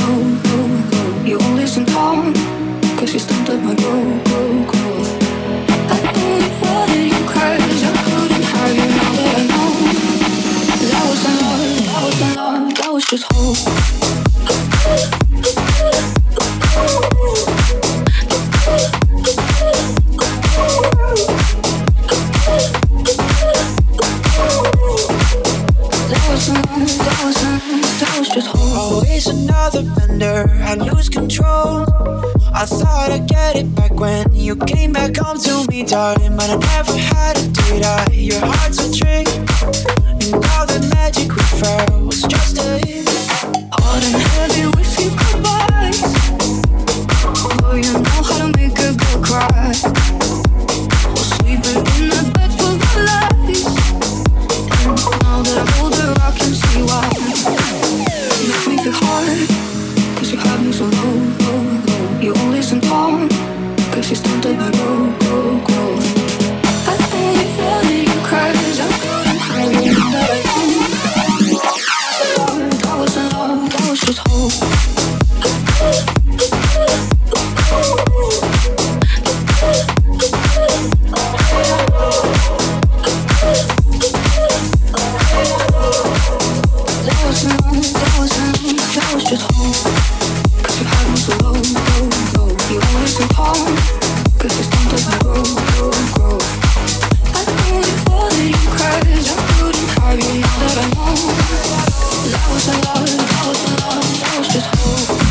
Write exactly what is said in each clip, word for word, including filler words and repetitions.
low, low, low. You won't listen down, cause you stumped up my growth, growth, growth. I only wanted you cause I couldn't have you now that I know. That wasn't love, that wasn't love, that was just hope. Always another bender, I lose control. I thought I'd get it back when you came back home to me, darling. But I never had a date. I, your heart's a trick, and all the magic we felt was just a hit. Hot and heavy with you goodbyes. Oh, you know how to make a girl cry. Or sleeping in a bed full of lies. And now that I'm older, I can see why. You make me feel hard, cause you had me so low, low, low. You won't listen down, cause you stumped up my grow, grow, grow. I only wanted you cause I couldn't have you that I know. That wasn't love, that was just hope. That wasn't love, that wasn't, that was just hope. Cause you had me so low, low, low. You won't listen down, cause you stumped up my grow, grow, grow. I only wanted you cause I couldn't have you now that I know. That wasn't love, that wasn't love, that was just hope.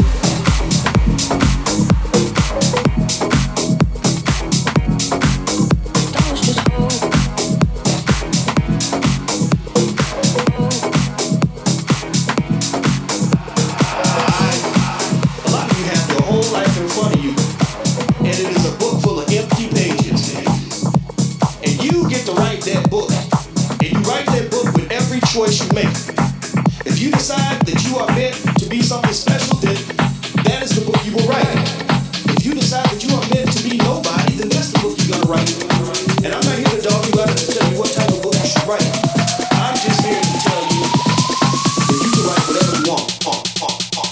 Choice you make. If you decide that you are meant to be something special, then that is the book you will write. If you decide that you are meant to be nobody, then that's the book you're gonna write. And I'm not here to dog you out and to tell you what type of book you should write. I'm just here to tell you that you can write whatever you want. Uh, uh, uh.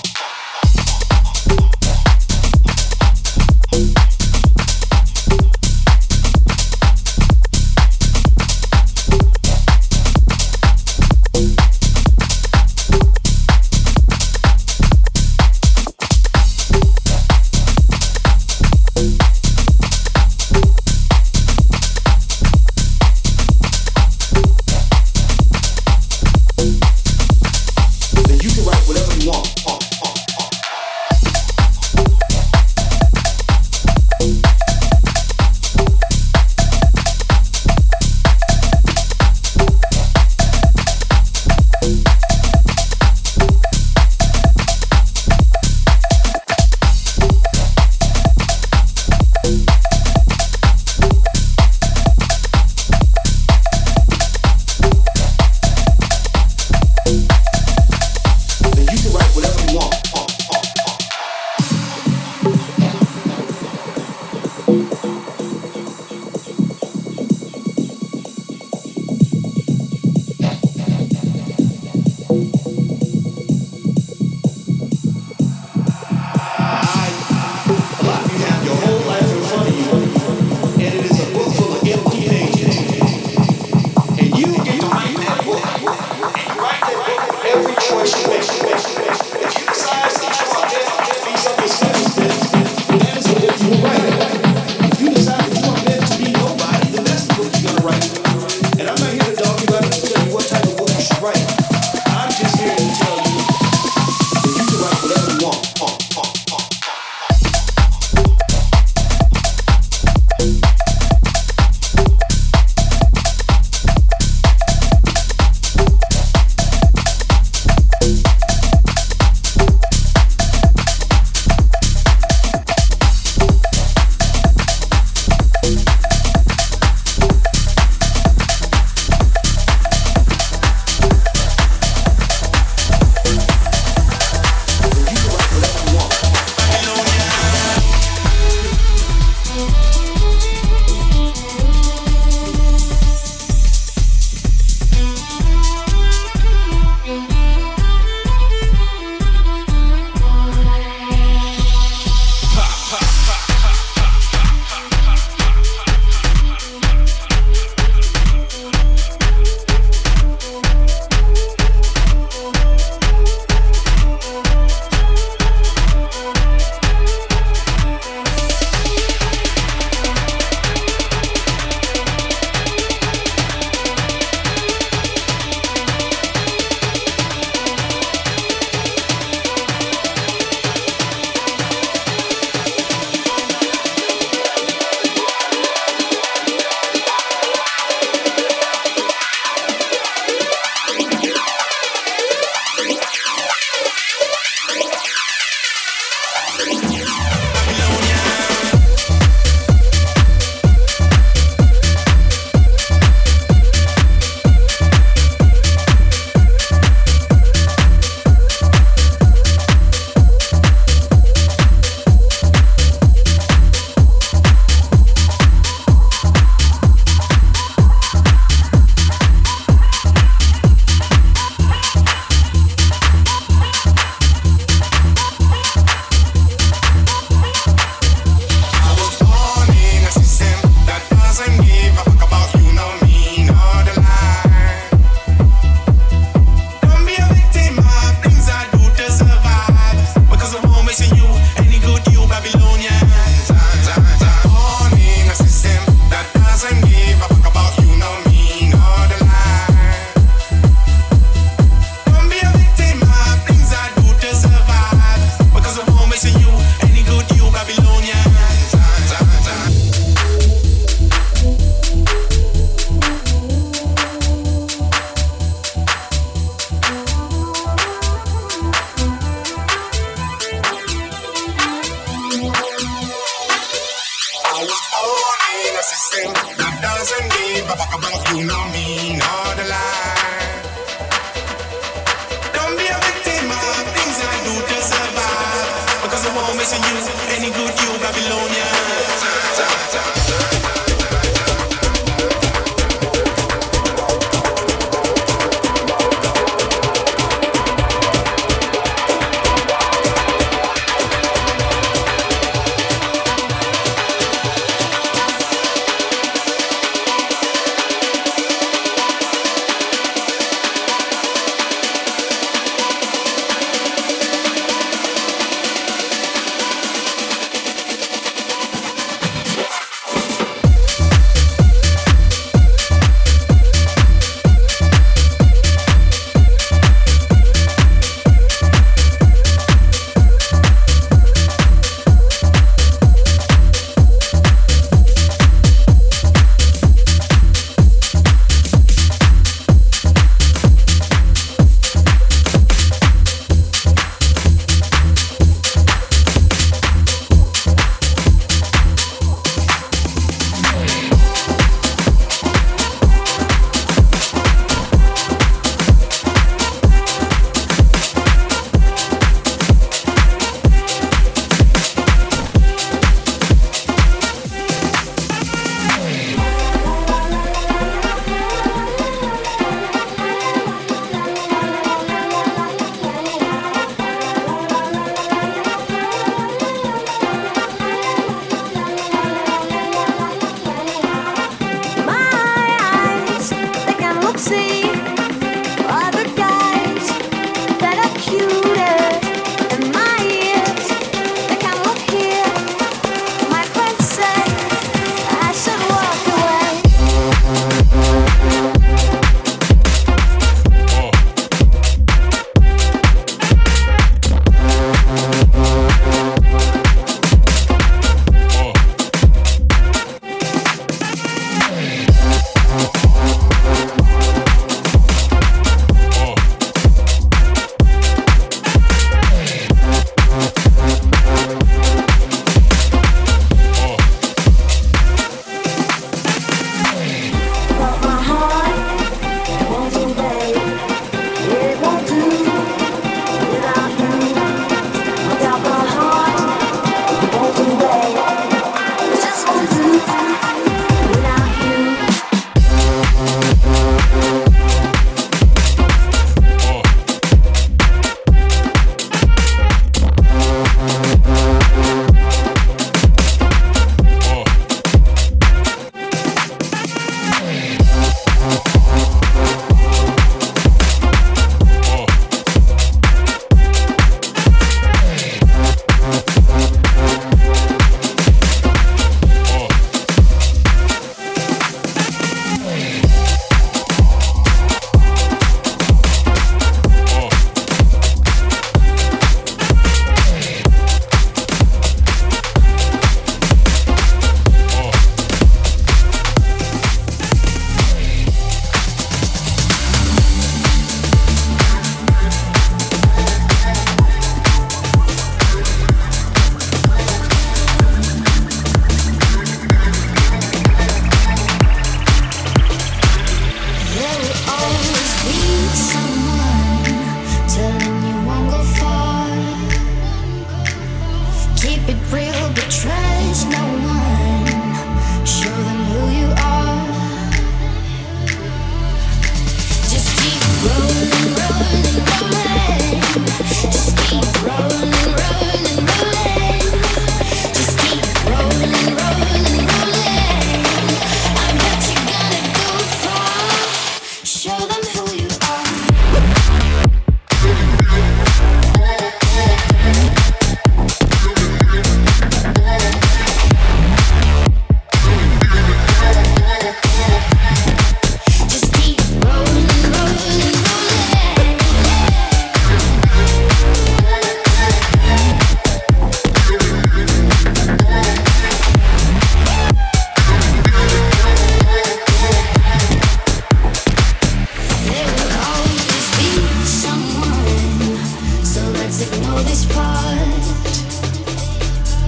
walk about, you know me, not a lie. Don't be a victim of things I do to survive, because I won't miss you, any good you, Babylonian.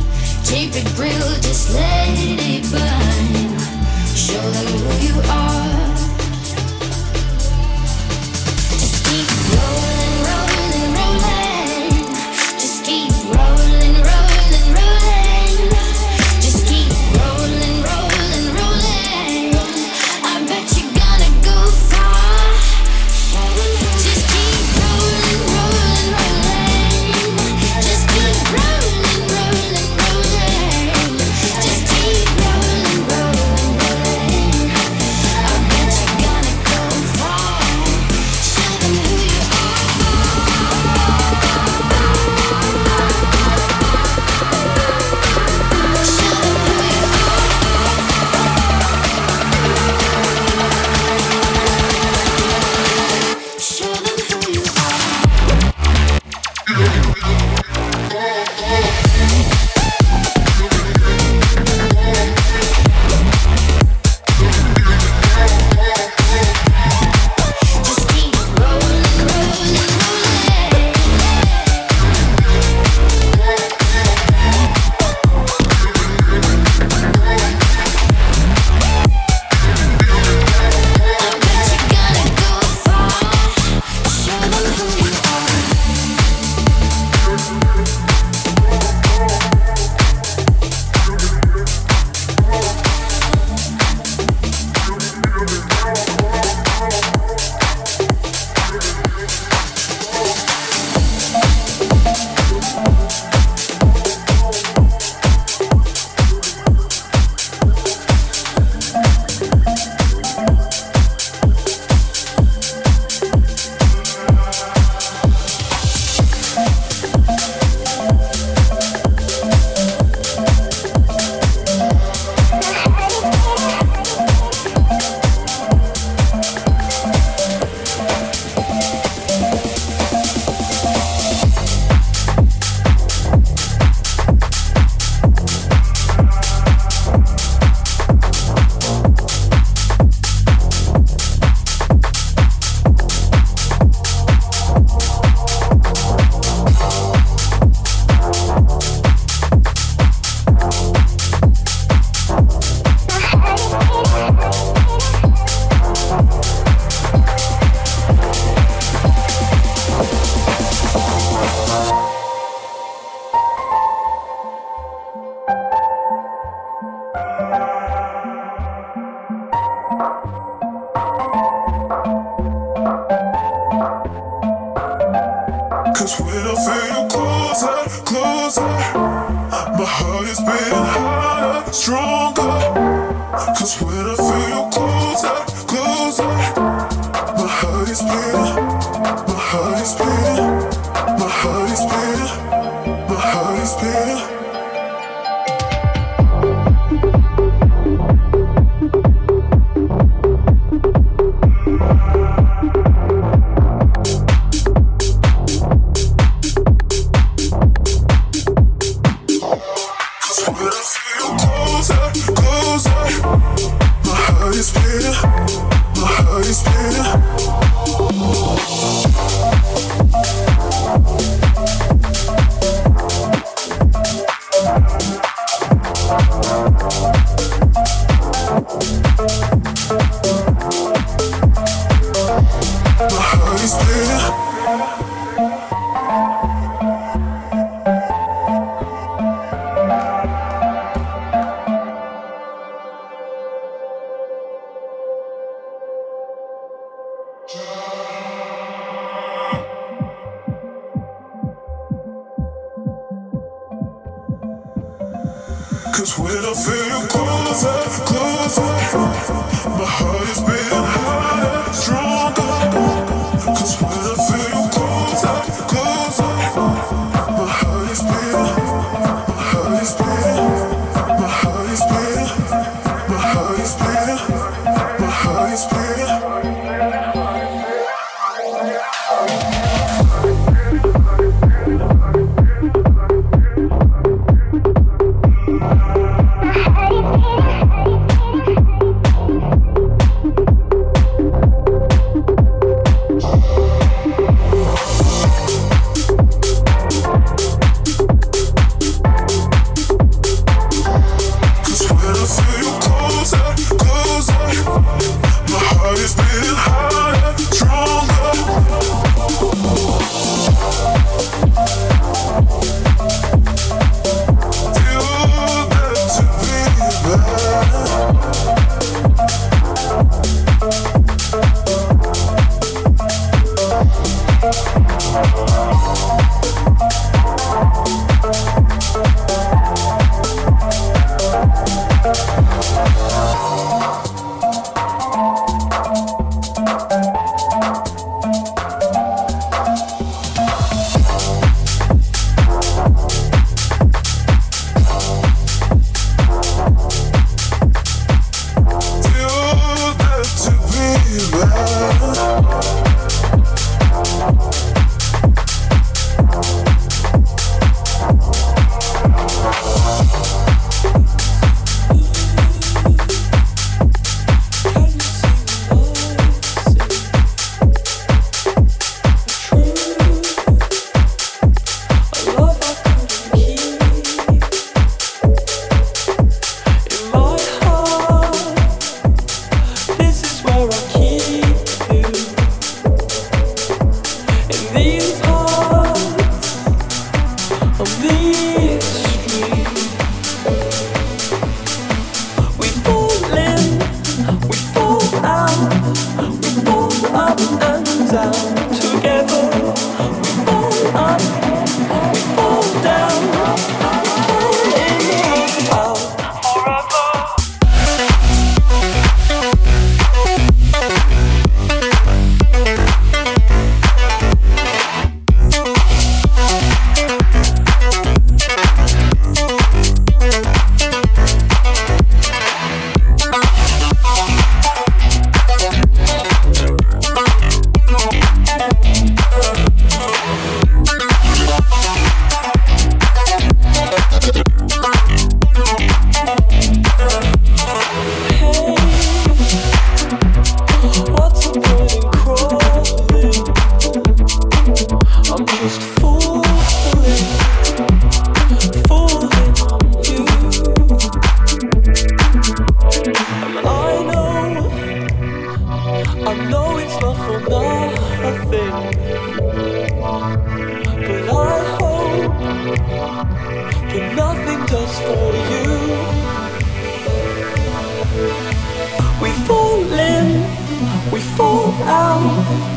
Keep it real, just let it burn. Show them who you are. closer. My heart is beating harder, stronger. Cause when I feel you closer, closer, my heart is beating, my heart is beating, my heart is beating, my heart is beating. Cause when I feel you closer, closer, my heart is beating harder, stronger. Cause when I feel you closer, closer, my heart is beating, my heart is beating, my heart is beating, my heart is beating, my heart is beating.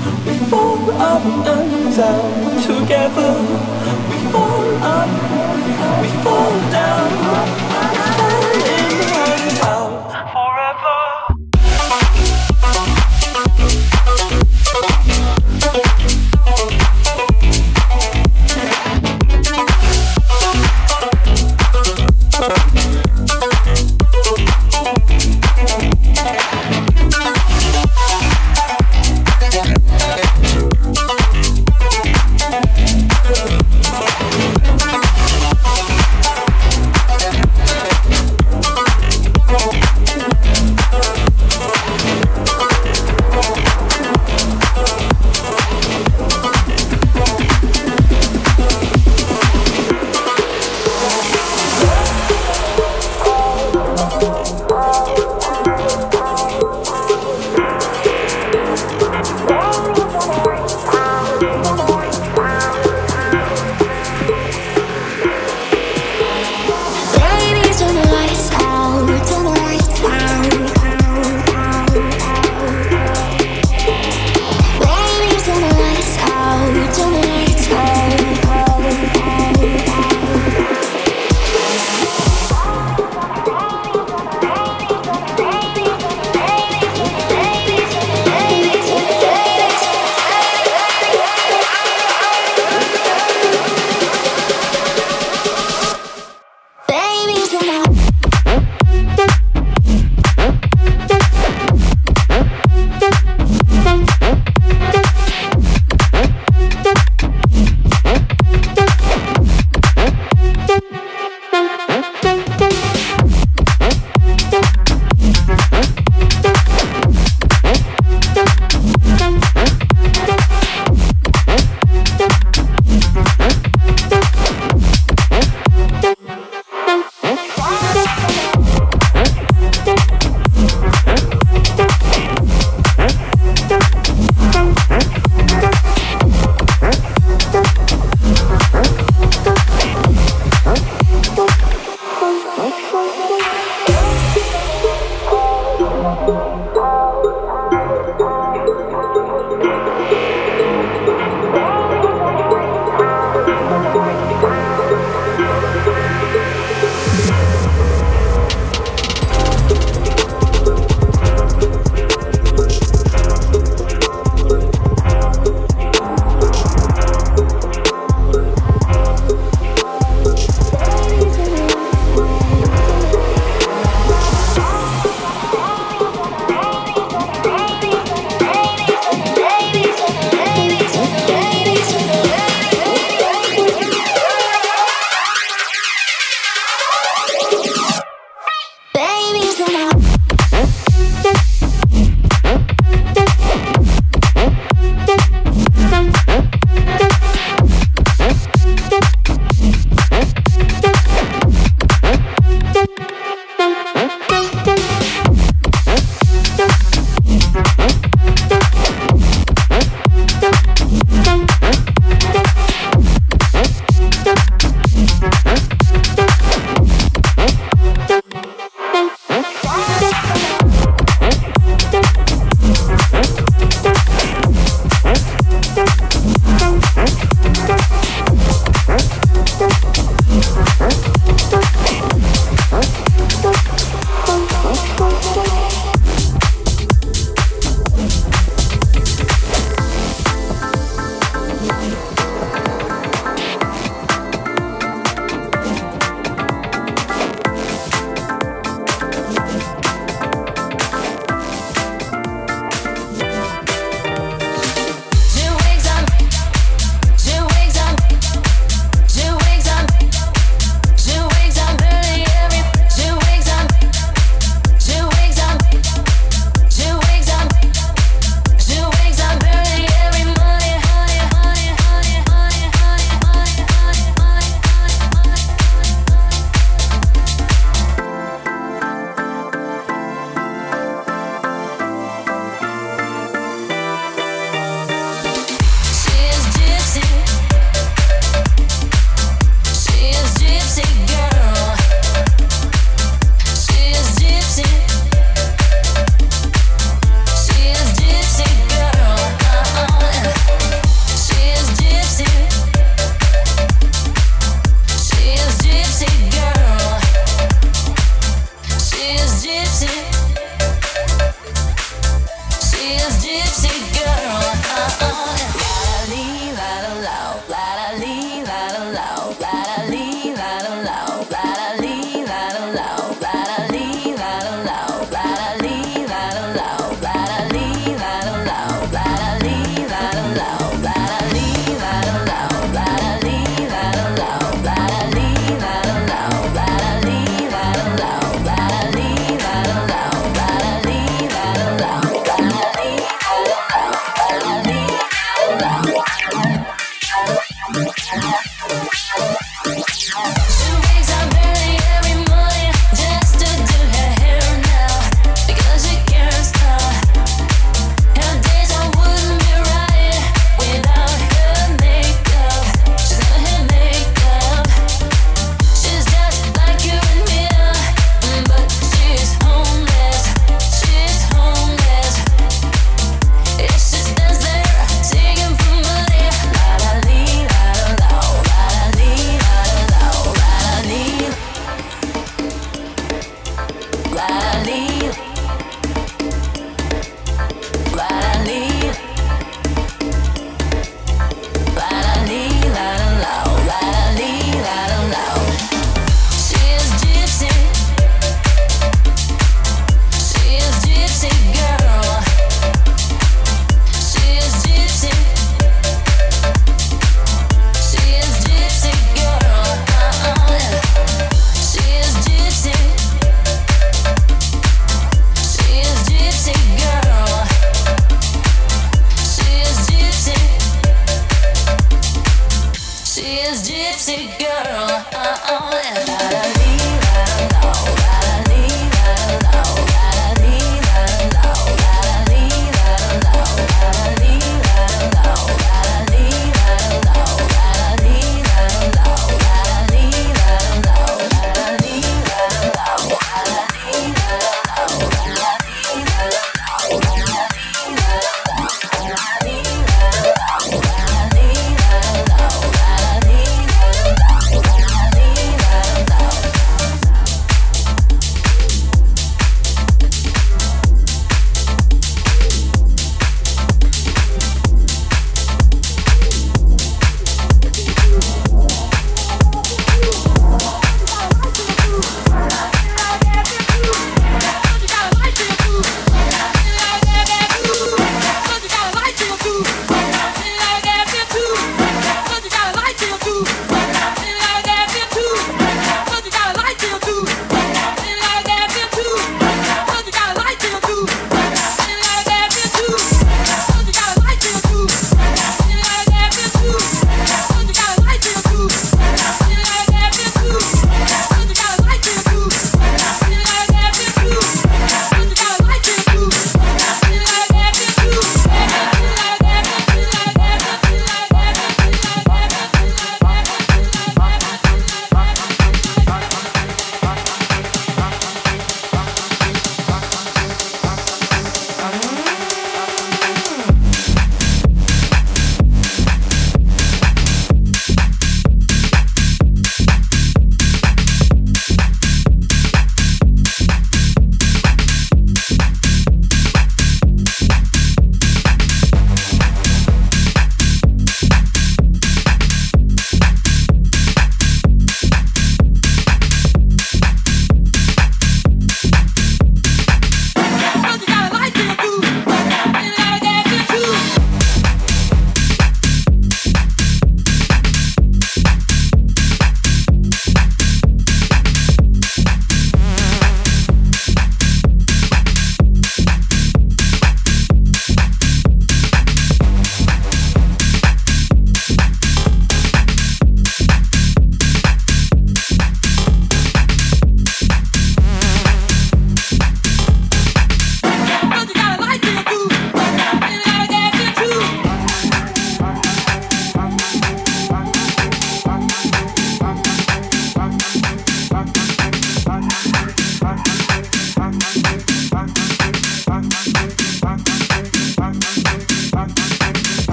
up and down together. We fall up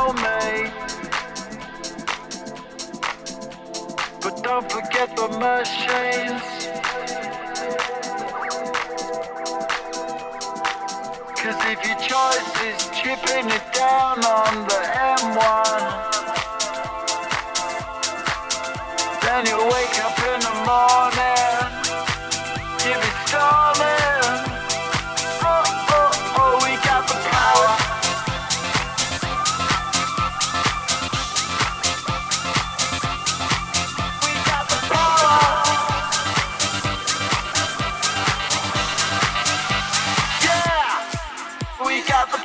soulmate. But don't forget the machines. Cause if your choice is chipping it down on the M one, then you wake up in the morning, you be stalling. Oh, oh, oh, we got the power. We got the power. Yeah, we got the power.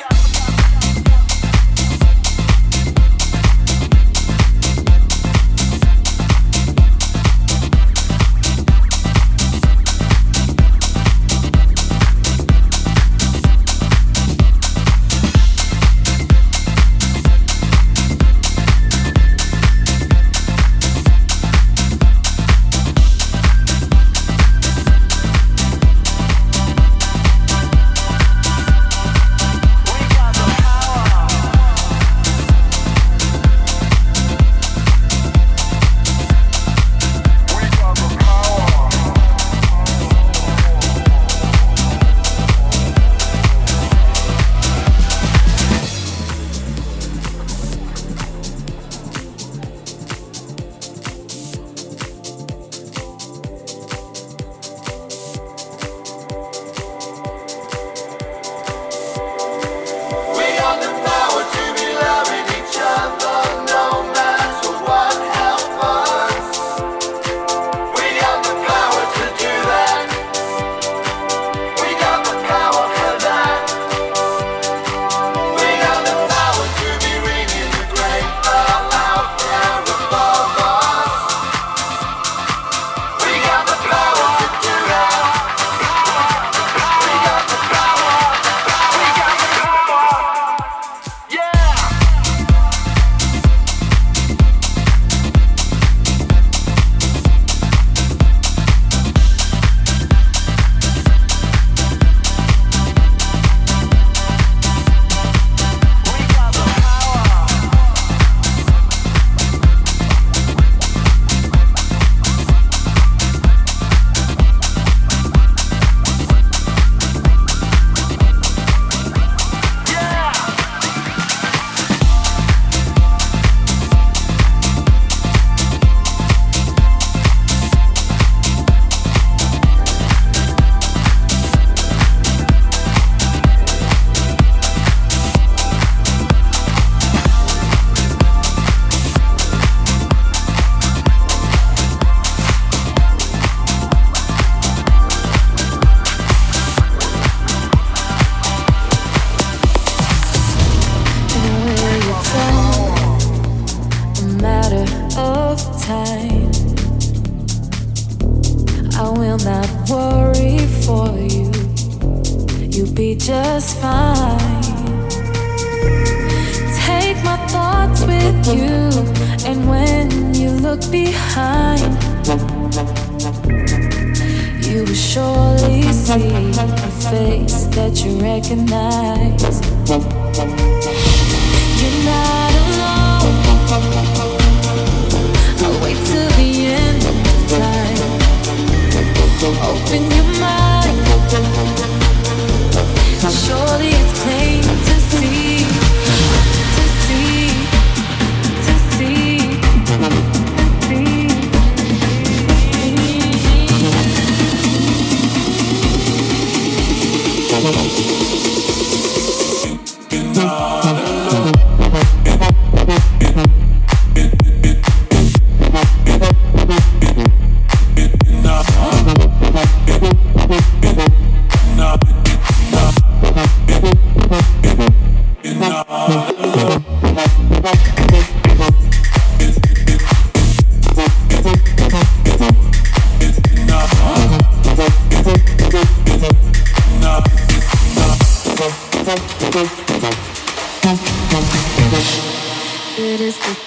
It is the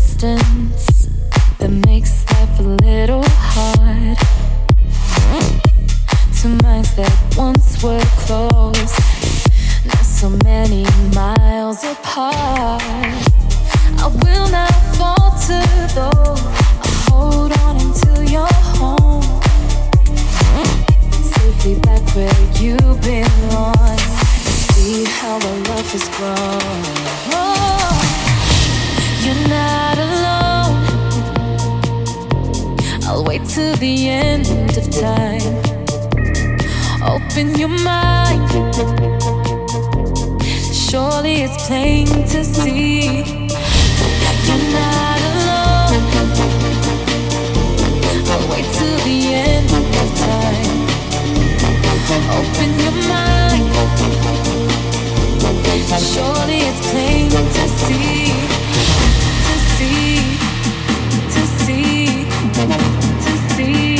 distance that makes life a little hard. Two minds that once were close, now so many miles apart. I will not falter though. I hold on until you're home, safely back where you belong. See how our love has grown. Oh, you're not alone. I'll wait till the end of time. Open your mind. Surely it's plain to see you're not alone. I'll wait till the end of time. Open your mind. Surely it's plain to see, to see, to see, to see.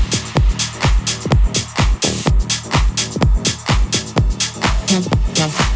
Yeah.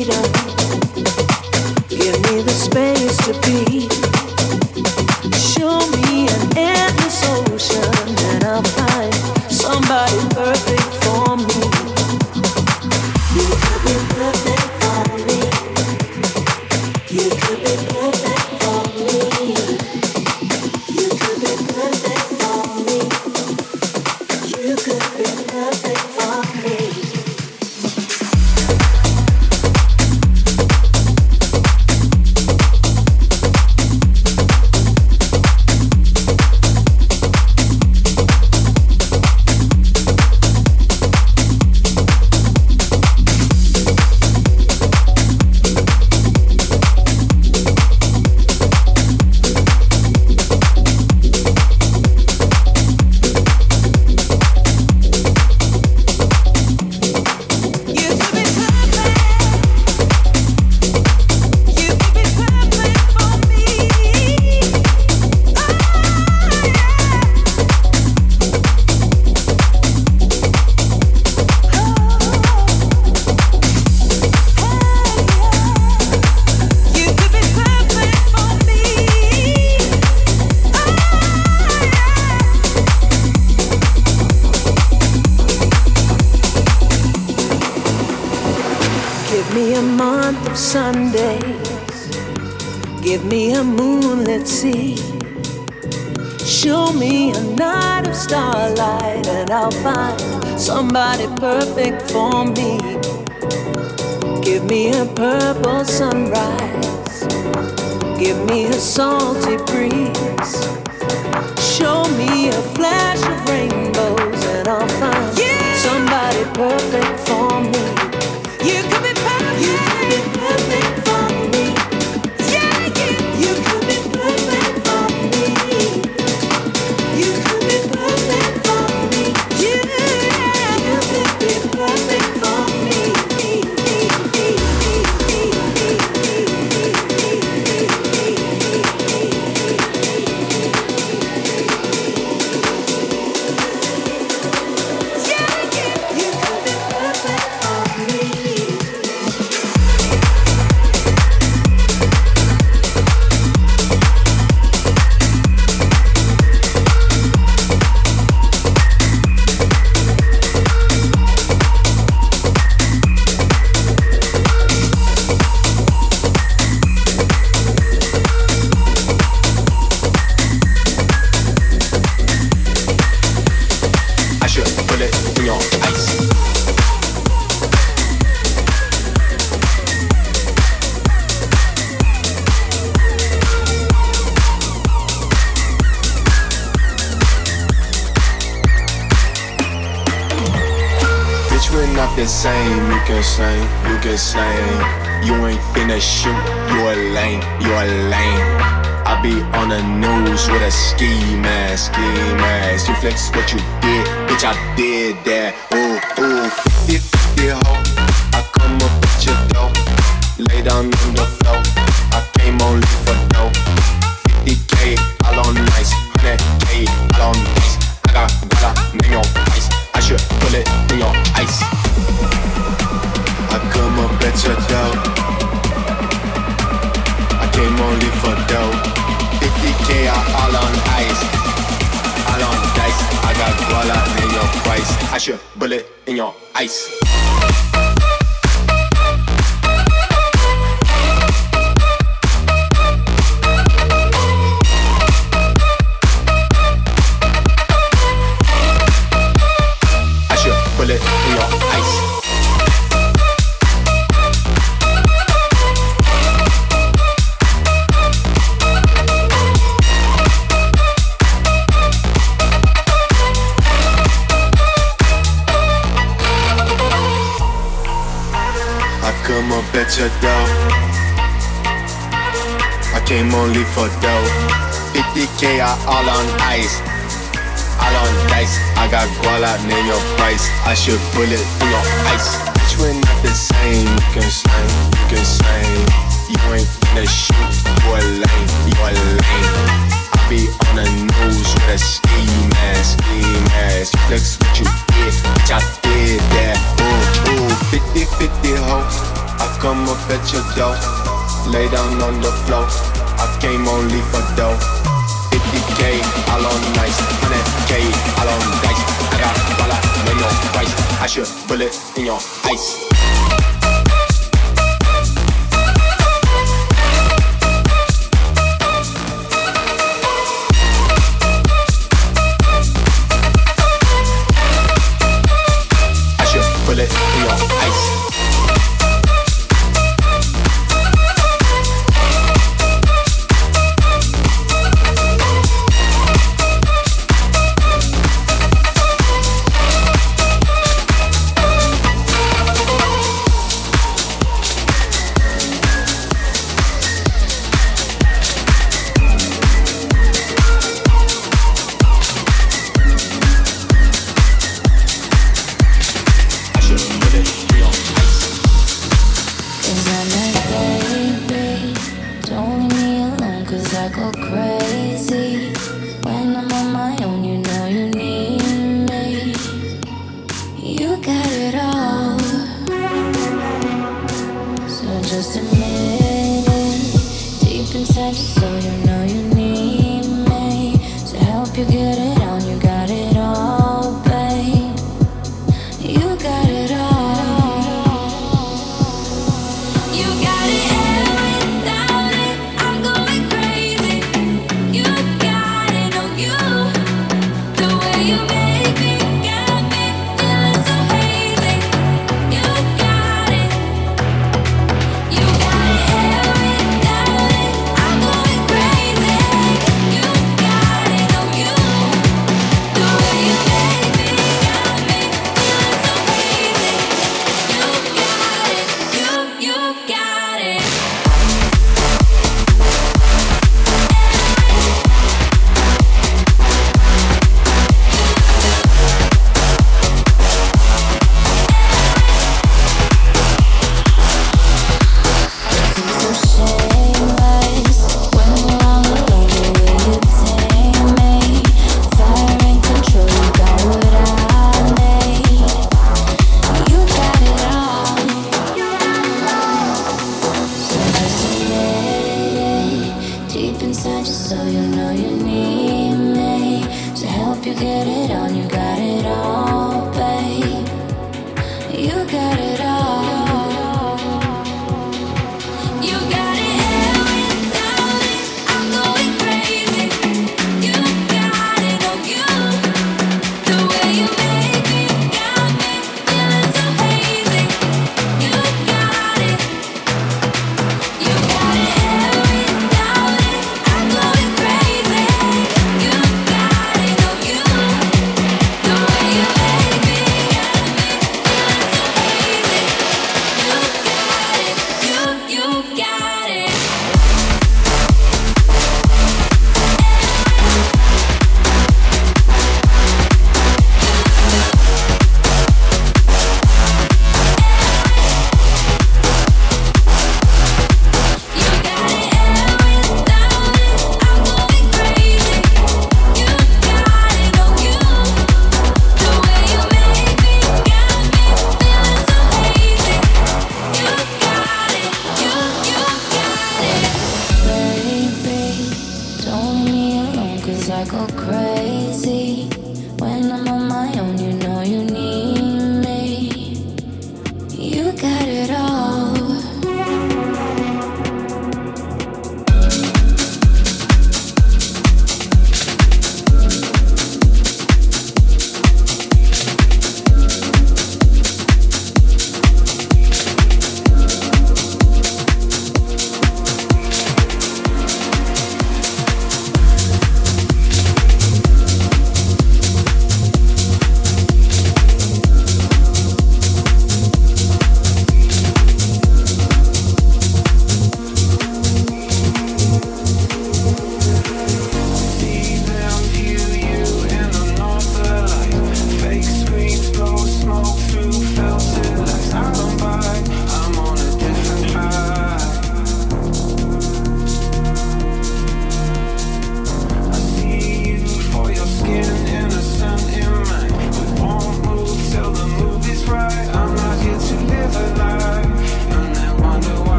freedom. Give me the space to be. Show me an endless ocean, and I'll find somebody perfect for me. You could be perfect for me. You could be perfect for me. You could be perfect for me. You could be perfect for me. Sundays, give me a moonlit sea. Show me a night of starlight, and I'll find somebody perfect for me. Give me a purple sunrise, give me a salty breeze. Show me a flash of rainbows, and I'll find yeah. somebody perfect for me. You could be perfect. You could be perfect for me. Yeah, yeah. You could be perfect for me. You could be perfect for me. Yeah, you could be perfect for me. The same, you can sing, you can sing. You ain't finna shoot, you a lame, you a lame. I be on the news with a ski mask, ski mask. You flex what you did, bitch, I did that. Ooh, ooh, fifty fifty ho. I come up with your dough, lay down on the floor. I came only for dough. fifty K, all on nice, one hundred K, all on nice. I got guala, name your ice. I should put it in your ice. I come up at your door. I came only for dough. fifty K all on ice. All on dice. I got guala in your price. I should bullet in your ice. I should bullet in your ice. Come up at your door. I came only for dough. fifty K all on ice. All on dice. I got guala, name your price. I should bullet through your ice. Bitch, we're not the same. You can sing, you can sing. You ain't finna shoot. You a lame, you a lame. I be on the news with a ski mask, ski mask. You flex what you did, bitch, I did that. Ooh, ooh, fifty fifty ho. I come up at your door, lay down on the floor. I came only for dough. fifty K all on nice, one hundred K all on dice. I got dollar, know your price. I should put it in your ice. Put it in your ice. I'm going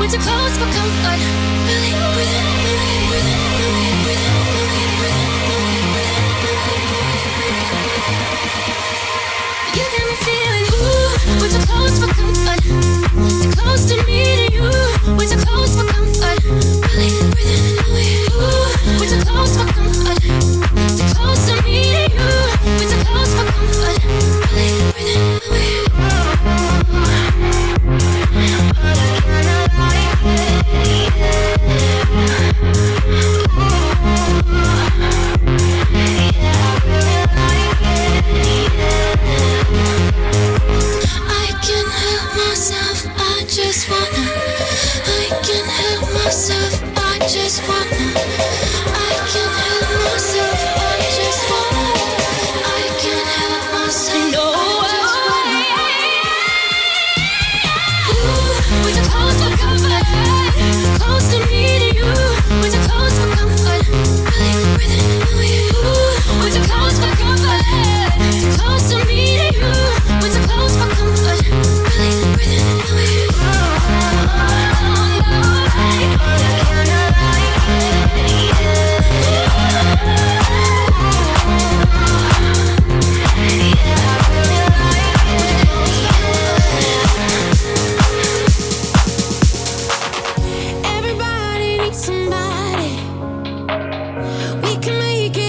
We're too close for comfort. Really breathing, really breathing, really breathing, really breathing, really breathing. You got me feeling, ooh, we're too close for comfort. Too close to me to you. We're too close for comfort. Really breathing, really, ooh, we're too close for comfort. Too close to me to you. We're too close for comfort. Really breathing, really. Somebody, we can make it.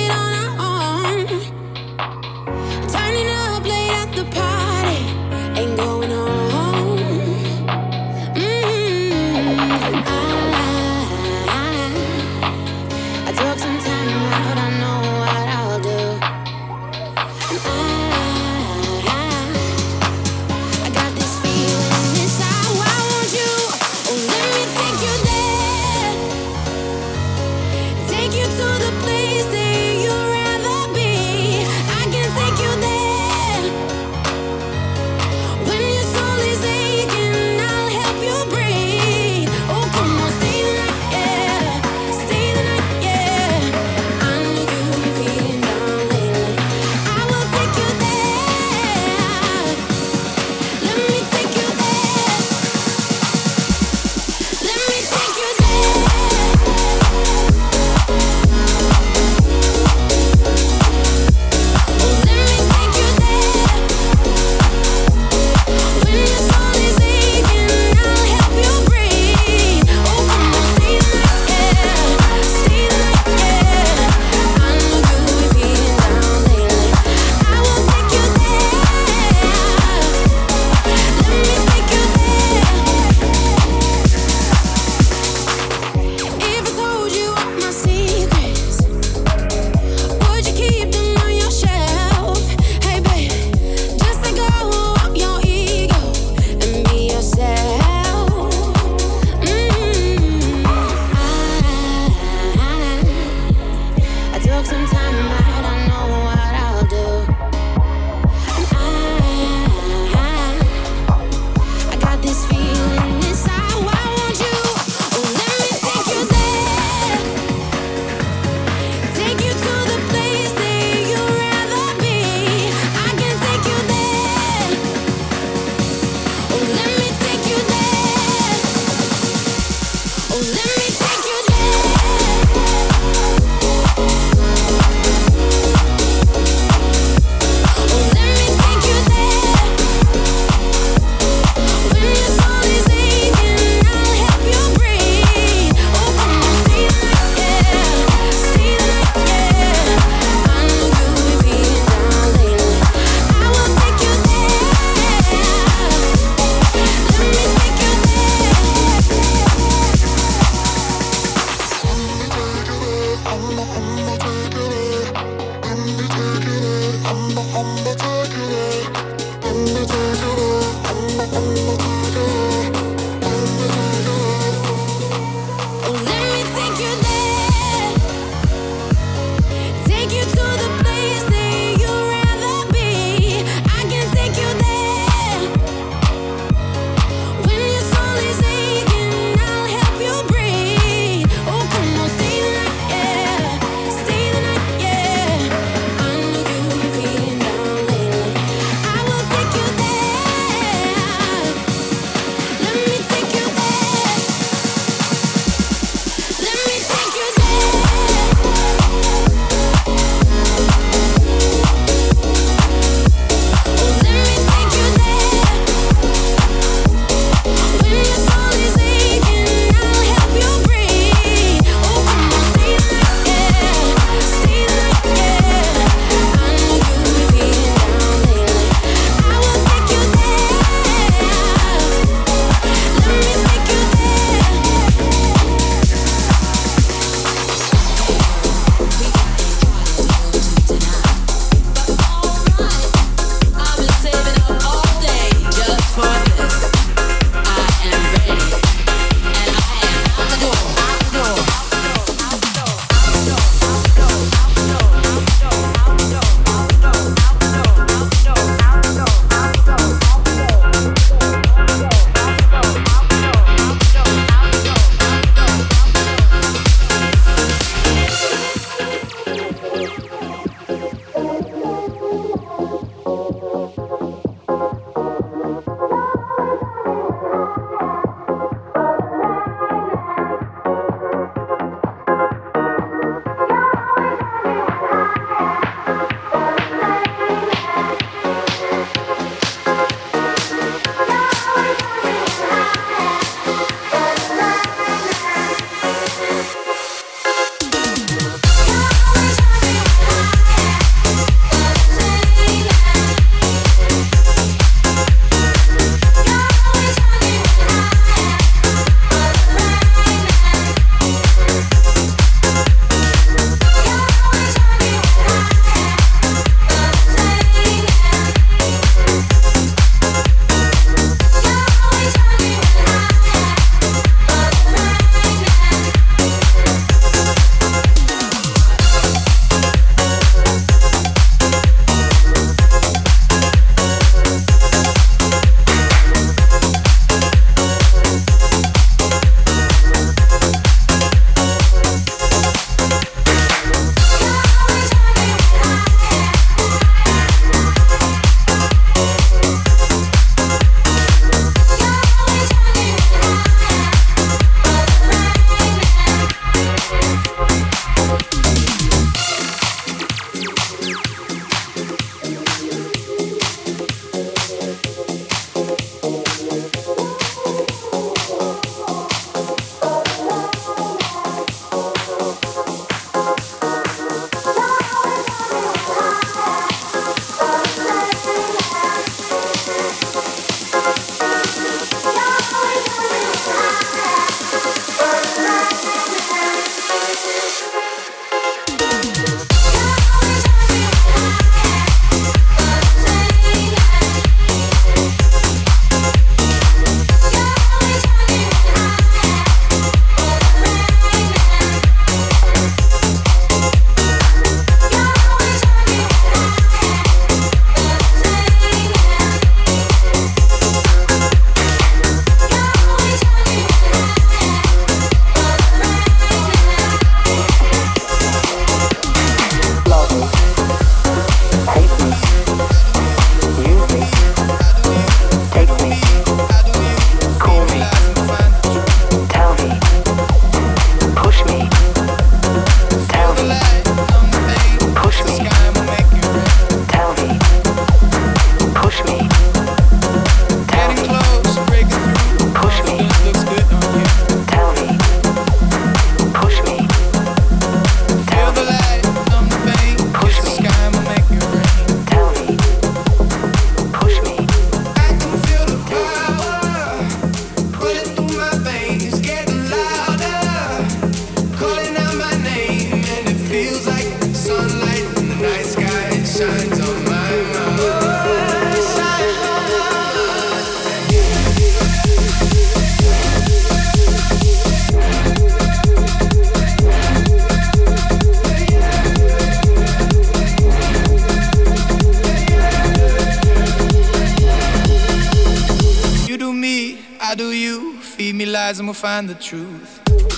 you. Feed me lies and we'll find the truth.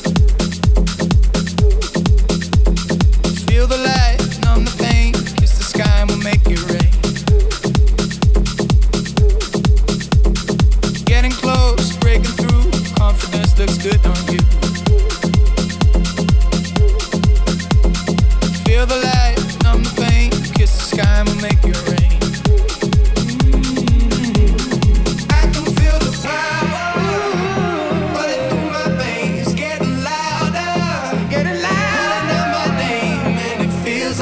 Feel the light, numb the pain. Kiss the sky and we'll make it rain. Getting close, breaking through. Confidence looks good on you. Feel the light, numb the pain. Kiss the sky and we'll make it rain. I can feel the power running through my veins, getting louder, getting louder. Calling out my name and it feels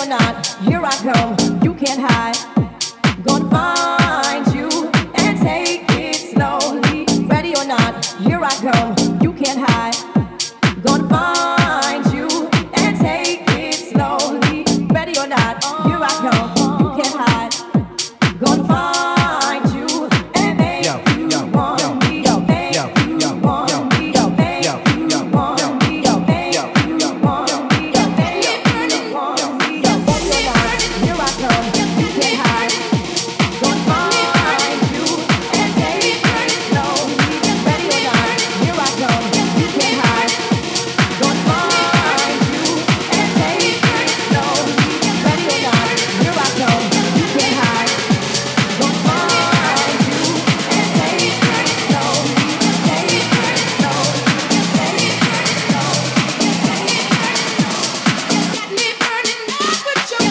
not, here I come, you can't hide. Gonna find you and take it slowly. Ready or not, here I come, you can't hide. Gonna find you and take it slowly. Ready or not, here I come, you can't hide. Gonna find you and make yo, you yo, want yo, me. Yo, make yo, you yo, want yo, me. Yo, make yo, you yo, want yo, me. Yo, make yo, you yo, want me. Yo, make yo, you want me. Yo, ready or not, here I come, you can't hide. Gonna find you and take it slowly. Ready or not, here I come, you can't hide. Gonna find you and take it slowly. Ready or not, here I come, you can't hide. Gonna find you and take it slowly. Take it slowly. Take it slowly. Got me burning up with you.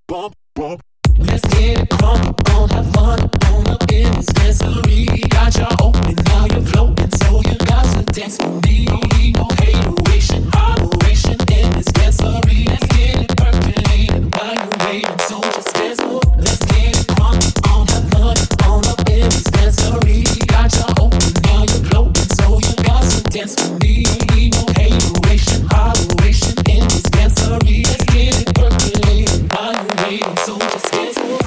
bump, bump. Let's get it crunk on, have fun on up in this dancery. Got you open, now you're floating, so you got to dance with me. No hateration, holleration in this dancery. Let's get it percolating while you're waiting, so just dance more. Let's get it crunk on, have fun on up in this dancery. Got you open, now you're floating, so you got to dance with me. No hateration, holleration in this dancery. Let's get it percolating while you're waiting, so just dance more.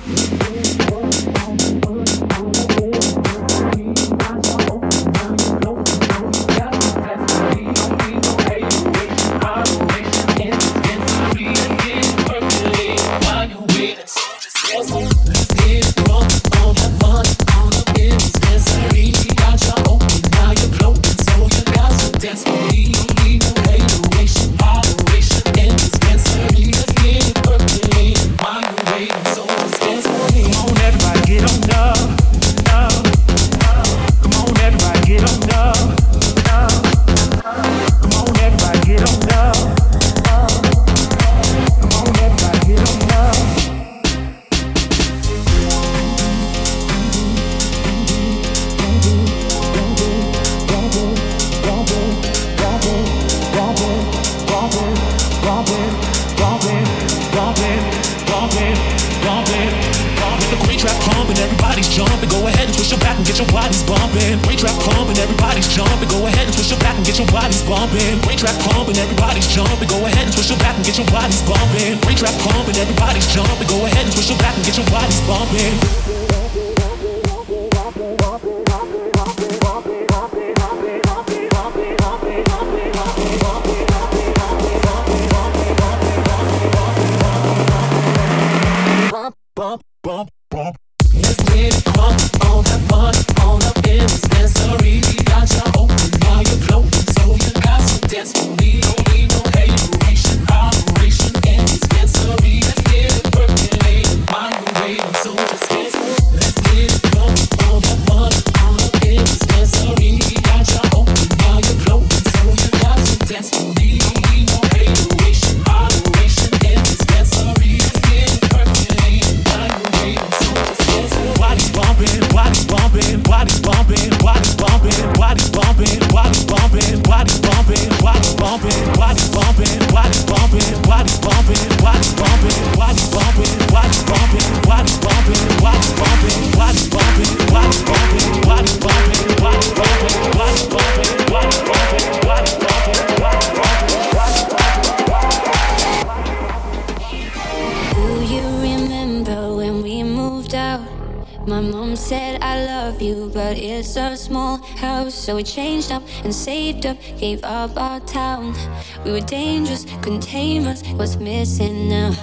So we changed up and saved up, gave up our town. We were dangerous, couldn't tame us. What's missing now?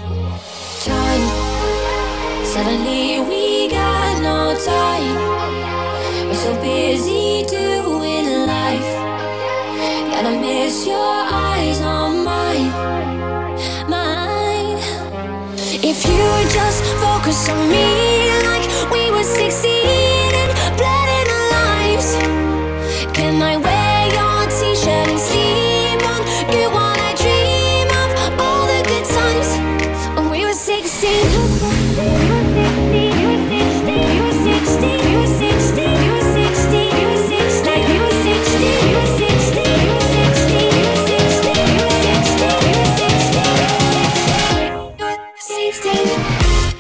Time. Suddenly we got no time. We're so busy doing life. Gotta miss your eyes on mine, mine. If you would just focus on me like we were succeeding, blood in our lives. Can I wear your t-shirt and sleep on you while I dream of all the good times when we were sixteen? You were sixteen, you were sixteen, you were sixteen, you were sixteen, you were sixteen, you were sixteen, you were sixteen, you were sixteen, you were sixteen, you were sixteen, you were sixteen, you were sixteen.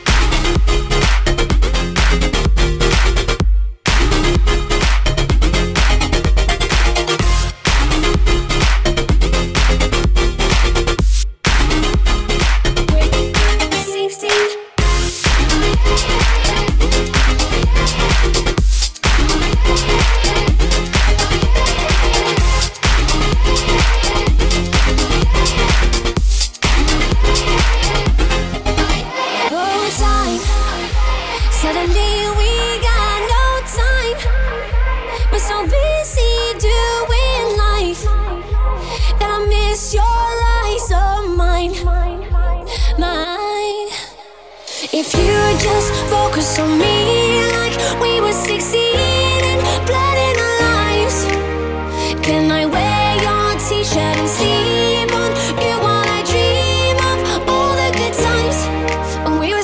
If you would just focus on me like we were succeeding, blood in our lives. Can I wear your t-shirt and sleep on you while I dream of all the good times when we were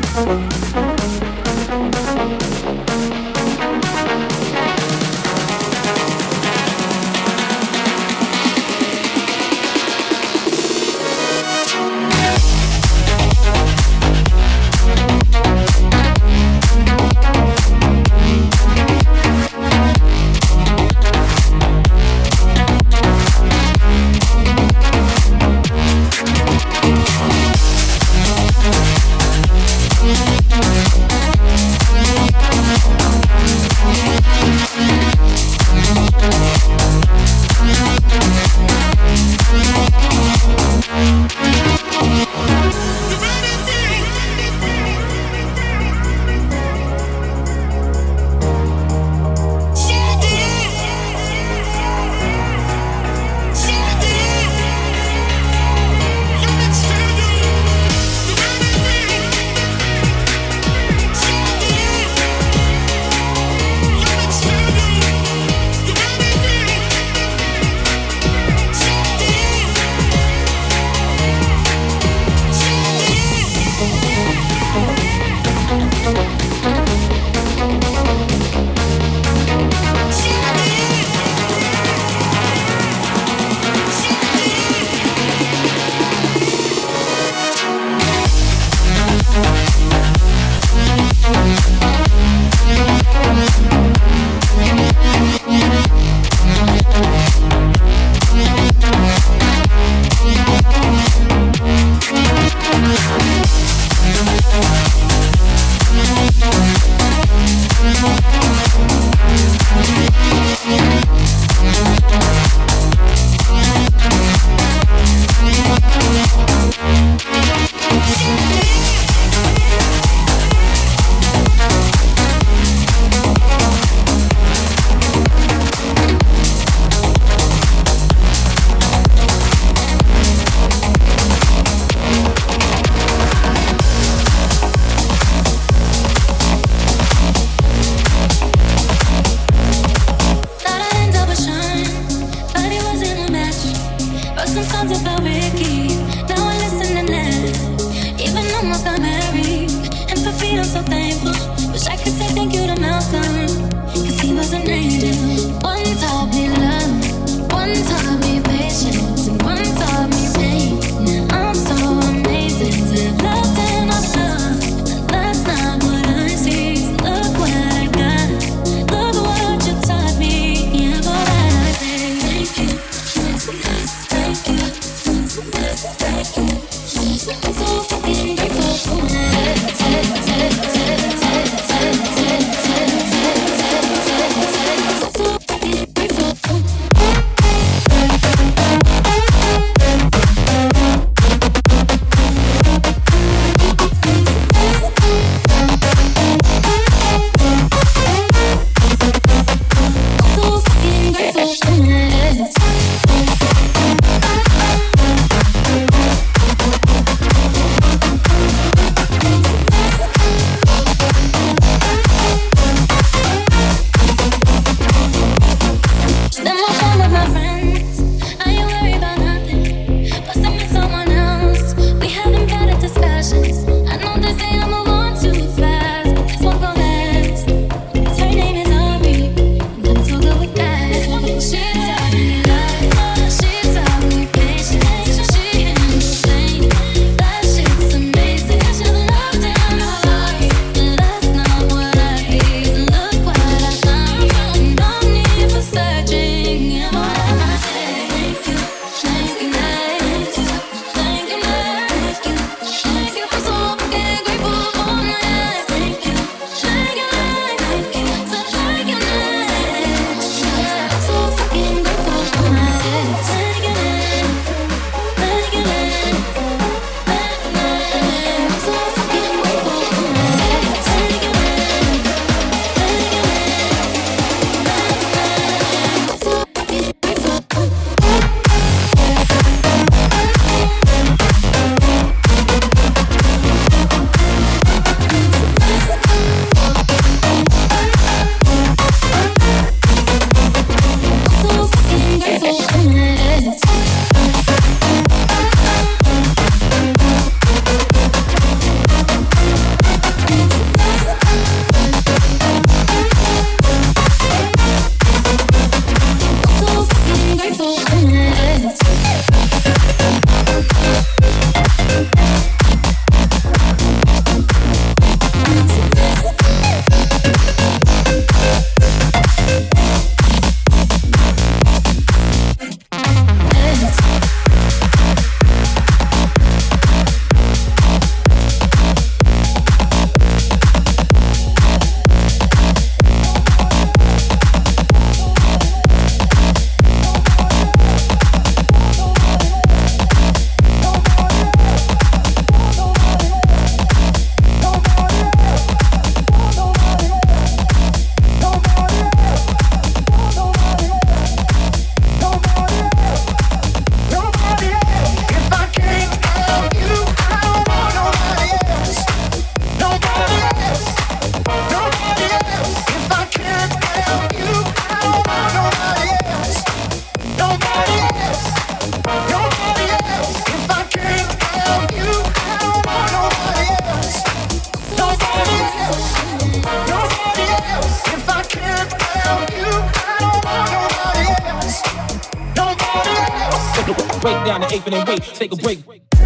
So fucking grateful. down the eighth and then wait, take a break.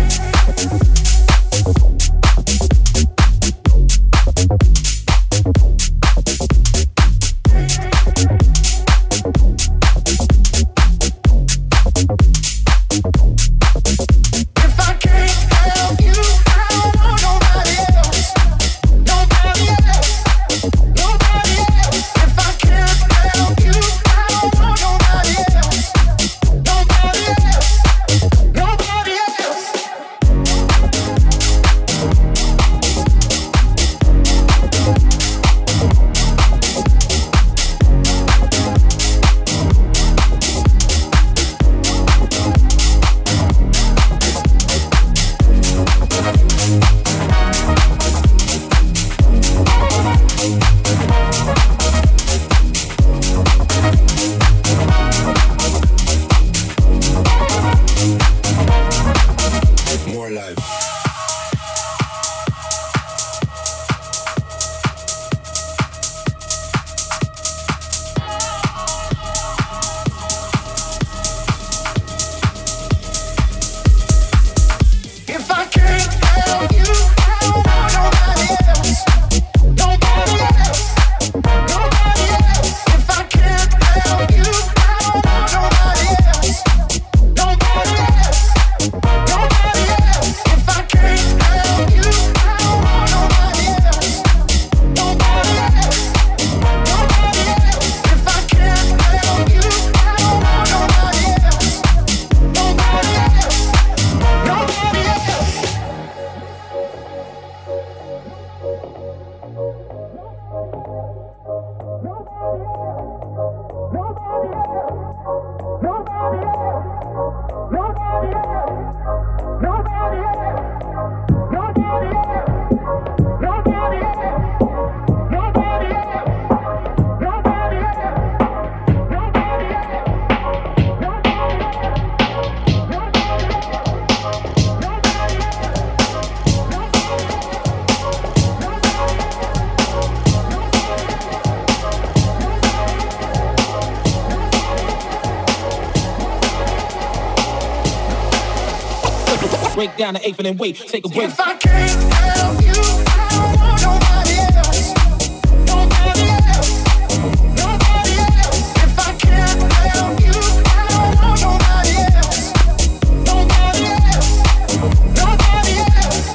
Break down the eighth and then wait, take a break. If I can't help you, I don't want nobody else. Nobody else. Nobody else. If I can't help you, I don't want nobody else. Nobody else. Nobody else.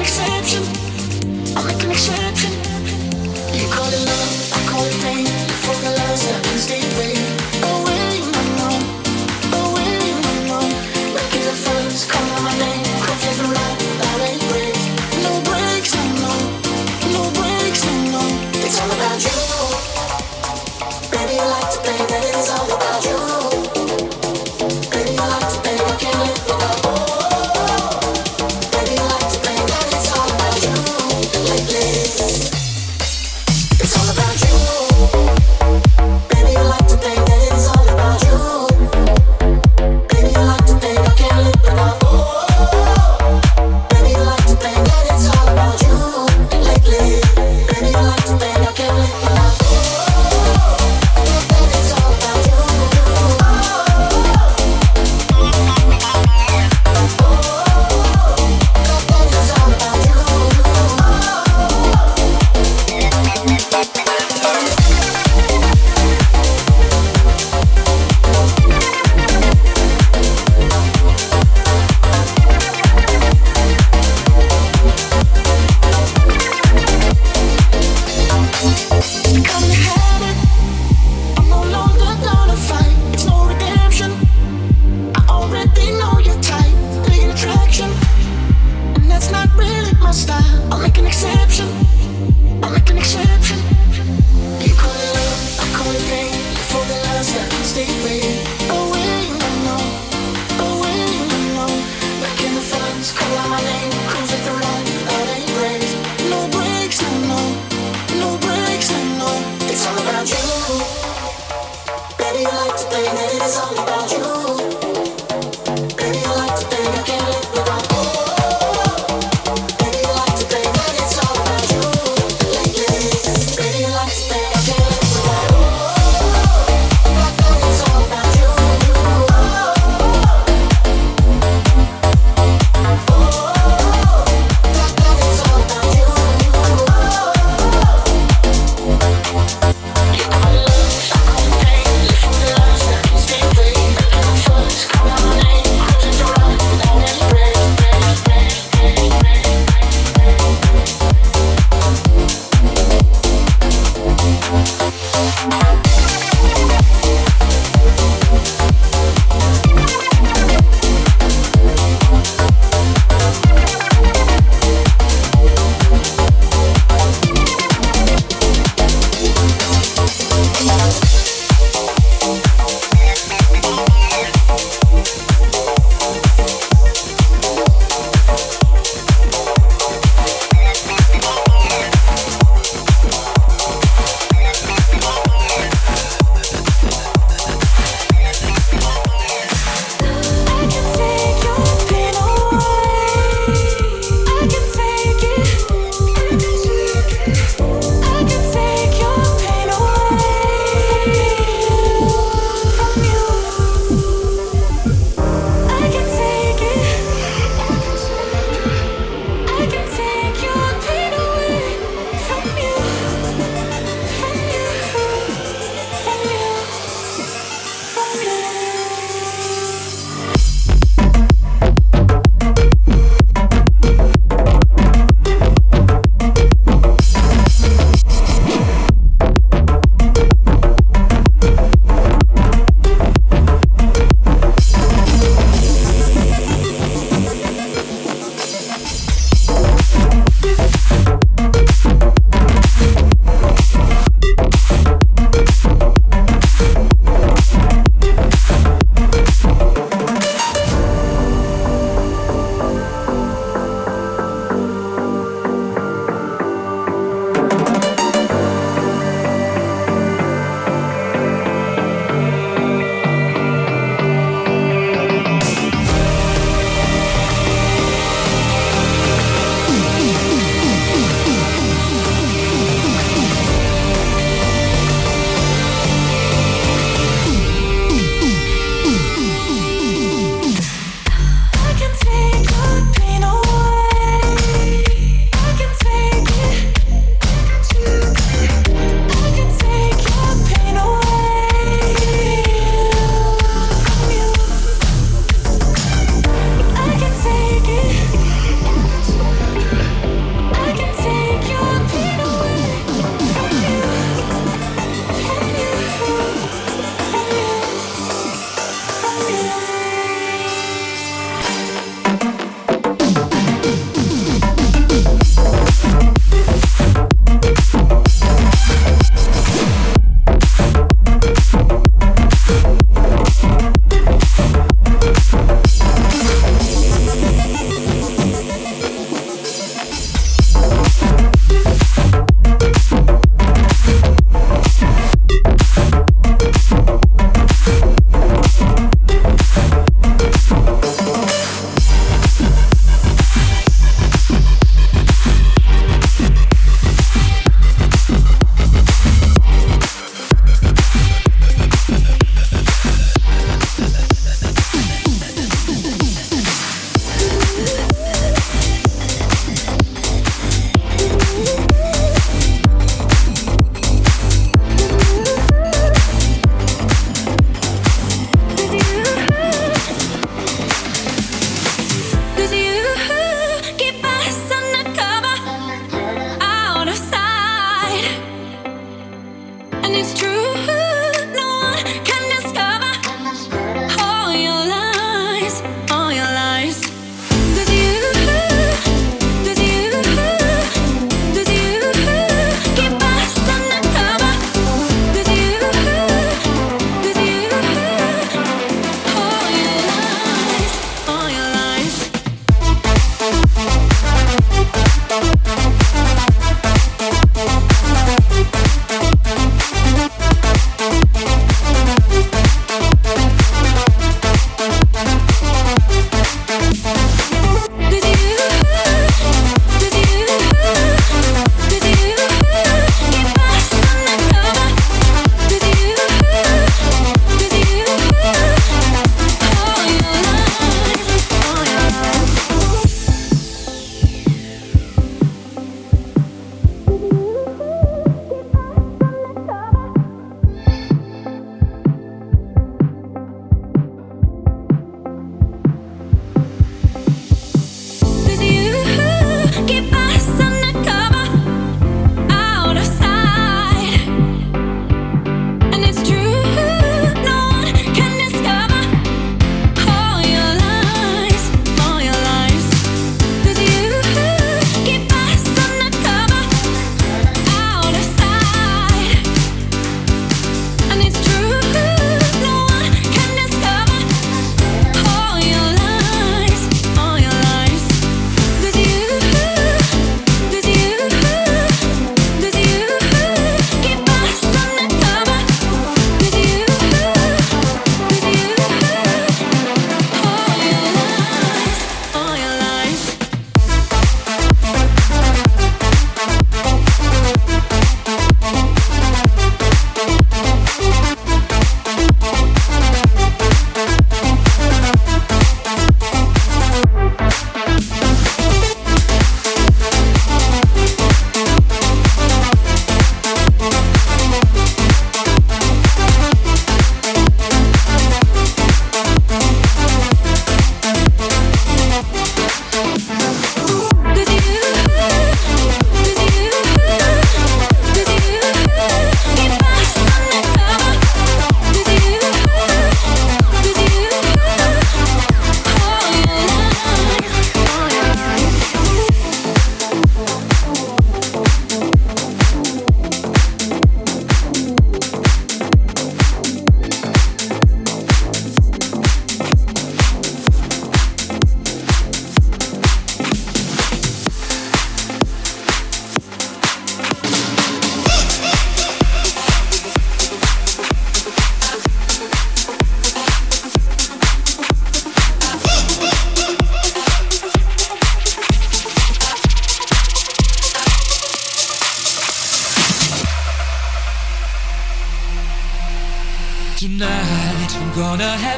exception. I make an exception. You call it love, I call it pain. You focus, I can stay away. Away, no, no. Away, no, no. Making the first, call out my name. Cross every line, that ain't breaks. No breaks, no, no. No breaks, no, no. It's all about you. Baby, I like to play, that it is all about you. Baby, I like to play, I can't live without you. Baby, I like to play, that it's all about you. Lately, it's all about you. Baby, I like to play, that it's all about you. Baby, I like to play, I can't live without you. Baby, I like to play, that it's all about you. Lately, baby, I like to play, I can't live without you.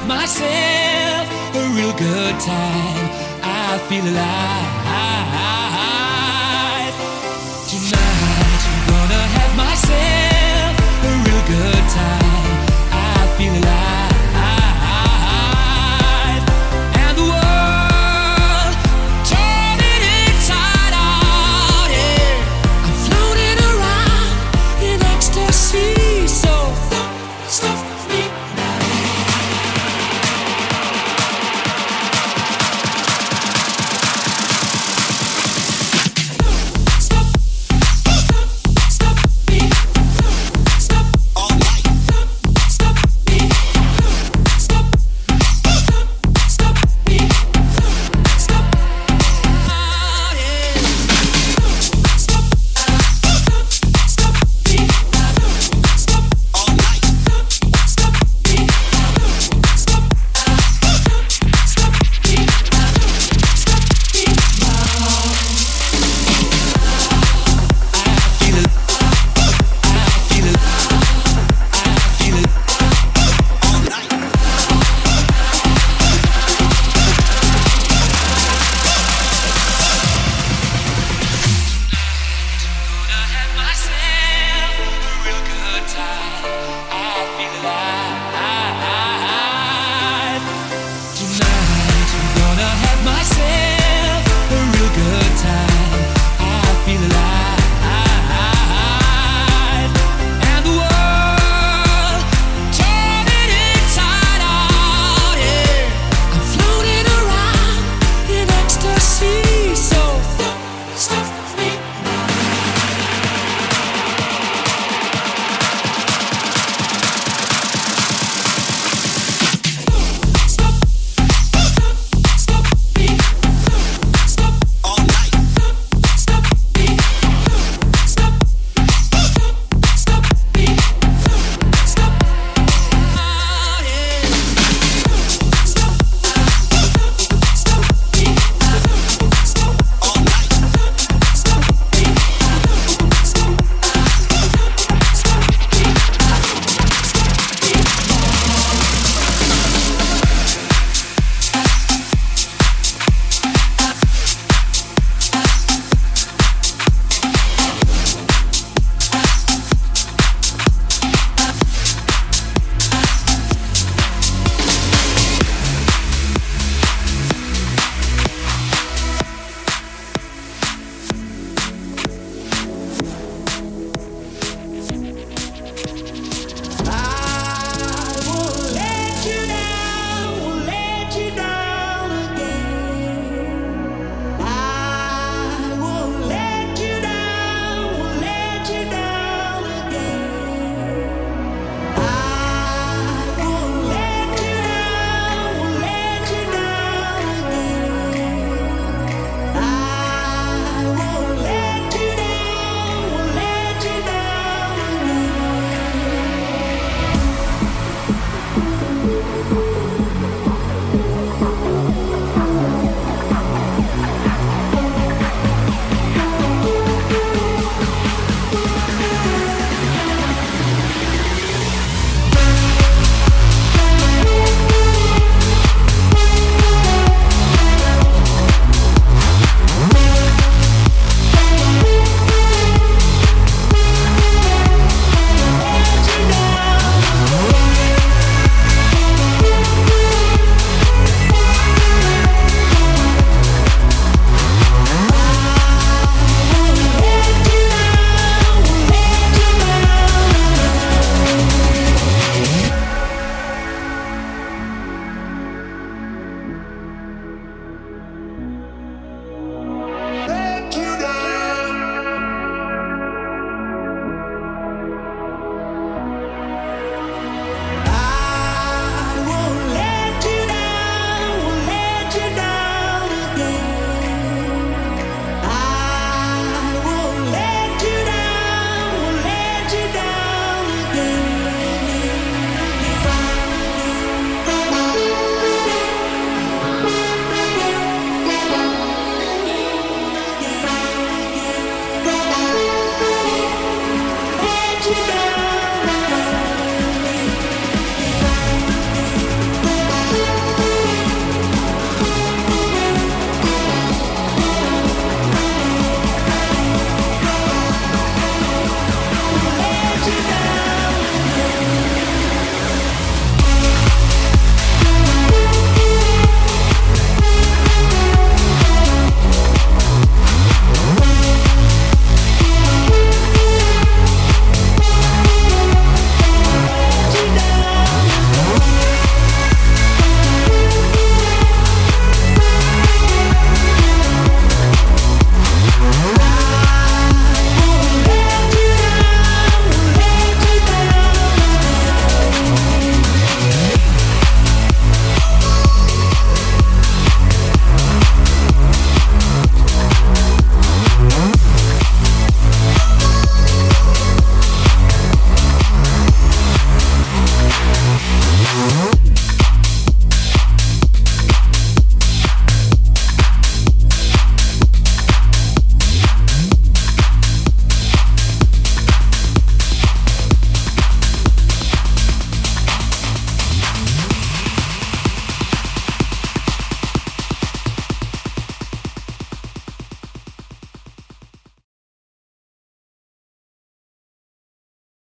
myself a real good time. I feel alive. Tonight I'm gonna have myself a real good time. I feel alive. And the world turning inside out, yeah. I'm floating around in ecstasy, so don't stop me now. Tonight I'm gonna have